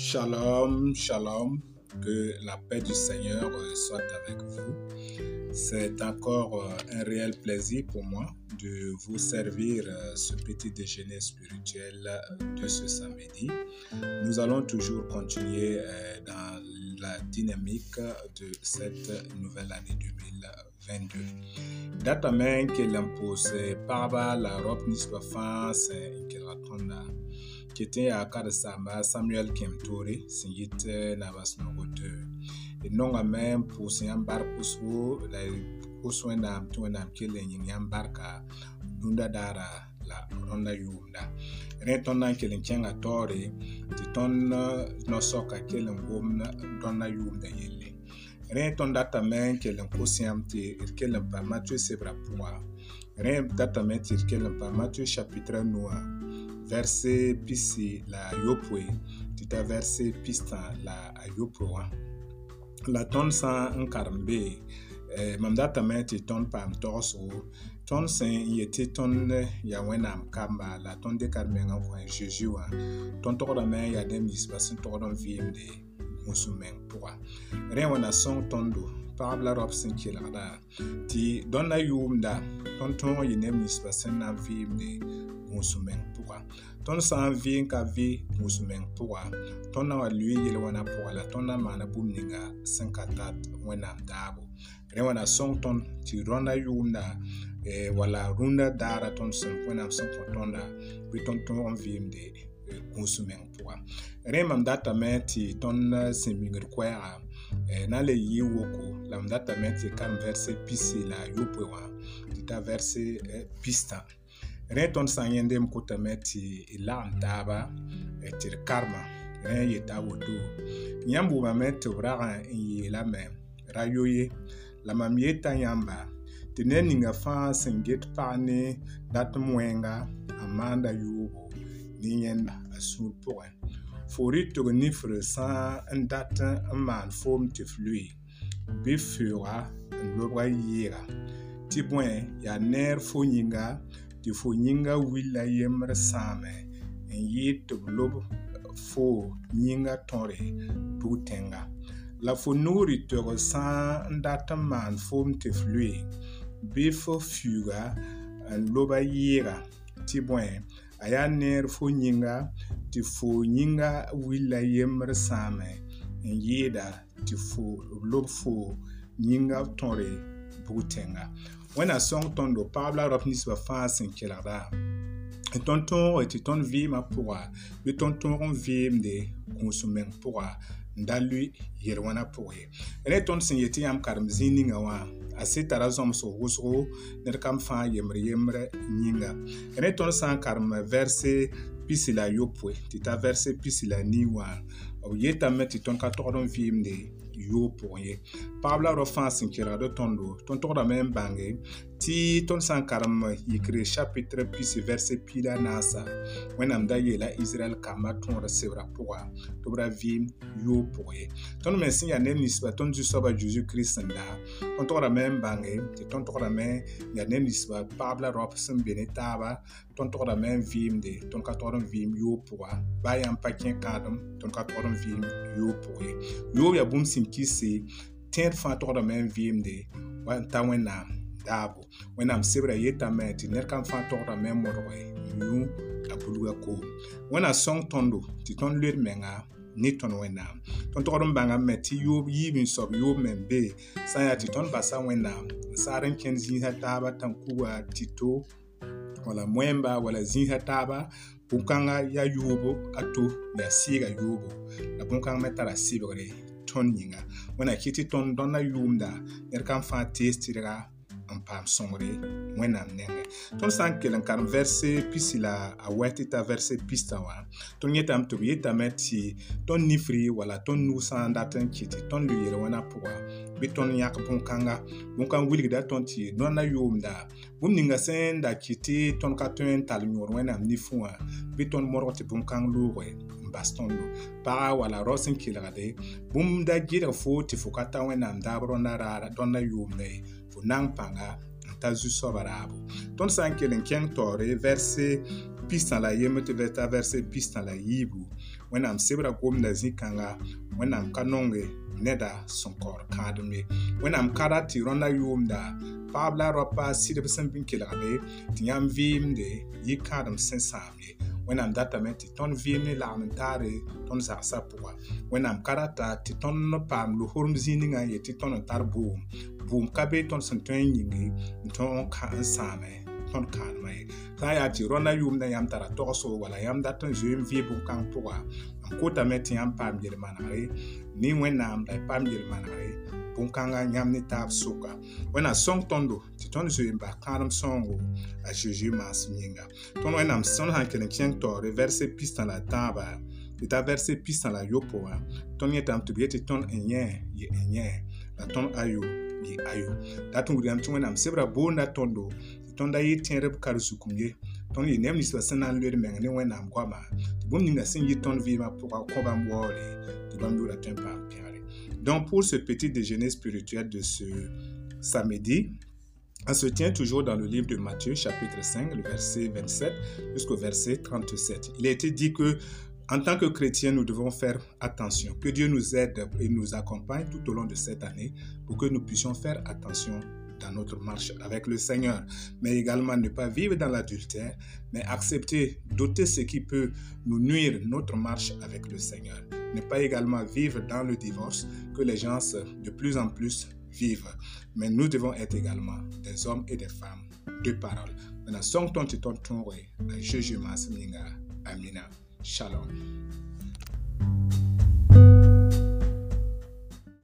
Shalom, shalom, que la paix du Seigneur soit avec vous. C'est encore un réel plaisir pour moi de vous servir ce petit déjeuner spirituel de ce samedi. Nous allons toujours continuer dans la dynamique de cette nouvelle année 2022. Datamente que l'impose parba la robe nisba France que ratonda qui était à Kadasamba Samuel Kemtori singit nabasnogote et non à même pour s'y embarquer la kuswena tuena kile nyambarka dunda dara la ronda yumda retonna kile nkenga tori titon no soka kile ngomna donna yumda yelle reton datamen kile nkusiamti kile pa Matthieu sebra poa re datamen kile pa Matthieu chapitre 9 verset pisi la yopwe tita verset pista la ayoproa la ton sa nkarmbe mamdata meti ton pam torso ton sen yeti ton ya wenam kamba la ton de karmenga ko jejua ton tokoda men ya dem dispasin tokodon vimde musumeng poa rewana song tondo parabla robson kilada ti donna yumda ton ton yinem dispasin na vimde musumeng poa ton san vi ka vi musumeng poa ton na lui yele wana poa la ton na mana bumninga 54 wenam dabo rewana song ton ti ronda yunda wala runda dara ton sen wenam sen tonda bi ton ton vimde musumeng poa remam data meti ton semingir kwea na le yiwoko lam data meti kan verset pisi la yopoa ta verset pista reton sanyende mkota meti ilam taba tir karma yeta wodo nyambu ma meti vraga yela me rayoye la mamieta nyamba tineninga fa senget pane dat mwenga amanda yugo nienda asul poen fori to nifre sa ndat man form te flui bifura lobra yira ti bwen ya ner fonyinga ti fonyinga willa yemre same en yit lob fo nyinga tore butenga la fonuri to sa ndat man form te flui bifo fuga loba yira ti bwen aya ner fonyinga ti fo nyinga willa yemre same en yida ti fo lob fo nyinga tore butenga when a song tondo pabla rapnis va fasin kelada tonton et ton vie ma pourra le tonton vie de consommer pourra ndalui yerwana pourye ele ton sinyeti am karmzini ngawa asitara zom so wusro ner kam fa yemre nyinga ele ton san karm verset pisila yopwe tita verset pisila niwa o yeta meti ton ka tordon vimde yo pourye pabla ro fansin kelada tondo ton torda men bange ti ton san karam yikre chapitre puis verset pila nasa when am da yela Israel kama ton recevra pourra to bra vim yo pourye ton mensin ya nem nisba ton du soba Jésus Christ nda ton torda men bange ti ton torda men ya nem nisba pabla ro sem benetaba ton torda men vim de ton ka torda vim yo pourra ba yam pakin kadam ton ka torda vim yo pourye yo ya bum sim kisi tent fa torda men vim de wa tawena dabo when am sebra yeta meti ner kan fa torda men morwe yu abuluga ko when a song tondo ti ton ler menga ni ton wena ton tordon banga meti yu yibin sob yu membe sa ya ti ton basa wena saren ken zin hataba tankuwa tito wala mwemba wala zin hataba bunkanga ya yubo ato ya siga yubo la bunkanga metara sibre ton nyinga when a kiti ton donna yumda ner kan fa testira en pam sombre wenam nenge ton san kelen kan verset pisila a wetita verset pistawa ton yetam to yeta meti ton nifri wala ton nusan datan kiti ton luyere wana poa biton yak bunkan wilgda ton ti nona yumda bumninga sen da kiti ton katon tal nyor wenam nifua biton moroti bunkan luwe bastondo para wala rosin kilade bum da gira fo ti fukata wenam dabro na rara donna yumne fu nang panga ta zu sobarabo ton san kelen ken tore verset pista la yem te veta verse pista la yibu. Wẽnnaam sebra gomda zĩ-kãnga, wẽnnaam ka nonge neda sẽn kaood kãadem ye. Wẽnnaam kada tɩ rõnda yʋʋmda paɣaba la raopa sɩdb sẽn bɩ n kelgde tɩ yãmb vɩɩmde yɩ-kãadem sẽn sãam ye. Wẽnnaam datame tɩ tõnd vɩɩm ne lagem n taare tõnd zagsã pʋga. Wẽnnaam ka rata tɩ tõnd paam loforem zĩig ningã n yetɩ tõnd n tar buum. Buum ka be tõnd sẽn tõe n yĩnge n tõog n sãame tõnd kãadmã ye. Sã n yaa tɩ rõnda yʋʋmdã yãmb tara togso wala yãmb dat n zoe n vɩɩ bõn-kãng pʋga, n kotame tɩ yãmb paam yel-manegre ne Wẽnnaam la y paam yel-manegre bõn-kãngã yãmb ne taab soka. Wẽnnaam sõng tõndo tɩ tõnd zoe n bas kãadem sõngo a Zeezi maasem yĩnga. Tõnd Wẽnnaam sõnd sãn kell n kẽng taoore vɛrse pistã la tãabã tɩ ta vɛrse pistã la yopʋgã tõnd yẽtame tɩ b yetɩ tõnd n yẽ yɩ n yẽ la tõnd ayo yɩ ayo. Dat n wilgame tɩ Wẽnnaam sebra boonda tõndo tɩ tõnd da yɩ tẽedb kar zukum ye. Tõnd yɩ neb ninsbã sẽn na n loed meng ne Wẽnnaam goamã tɩ bũmb ninga sẽn yɩ tõnd vɩɩmã pʋga kõ bãmb waoore tɩ bãmb loodã tõe n paam pẽgre. Donc pour ce petit déjeuner spirituel de ce samedi, on se tient toujours dans le livre de Matthieu, chapitre 5, le verset 27 jusqu'au verset 37. Il a été dit que en tant que chrétiens, nous devons faire attention. Que Dieu nous aide et nous accompagne tout au long de cette année pour que nous puissions faire attention dans notre marche avec le Seigneur. Mais également ne pas vivre dans l'adultère, mais accepter d'ôter ce qui peut nous nuire notre marche avec le Seigneur. Ne pas également vivre dans le divorce que les gens de plus en plus vivent. Mais nous devons être également des hommes et des femmes de parole. Maintenant, song ton titon ton way, Jésus Masminga, Amina, Shalom.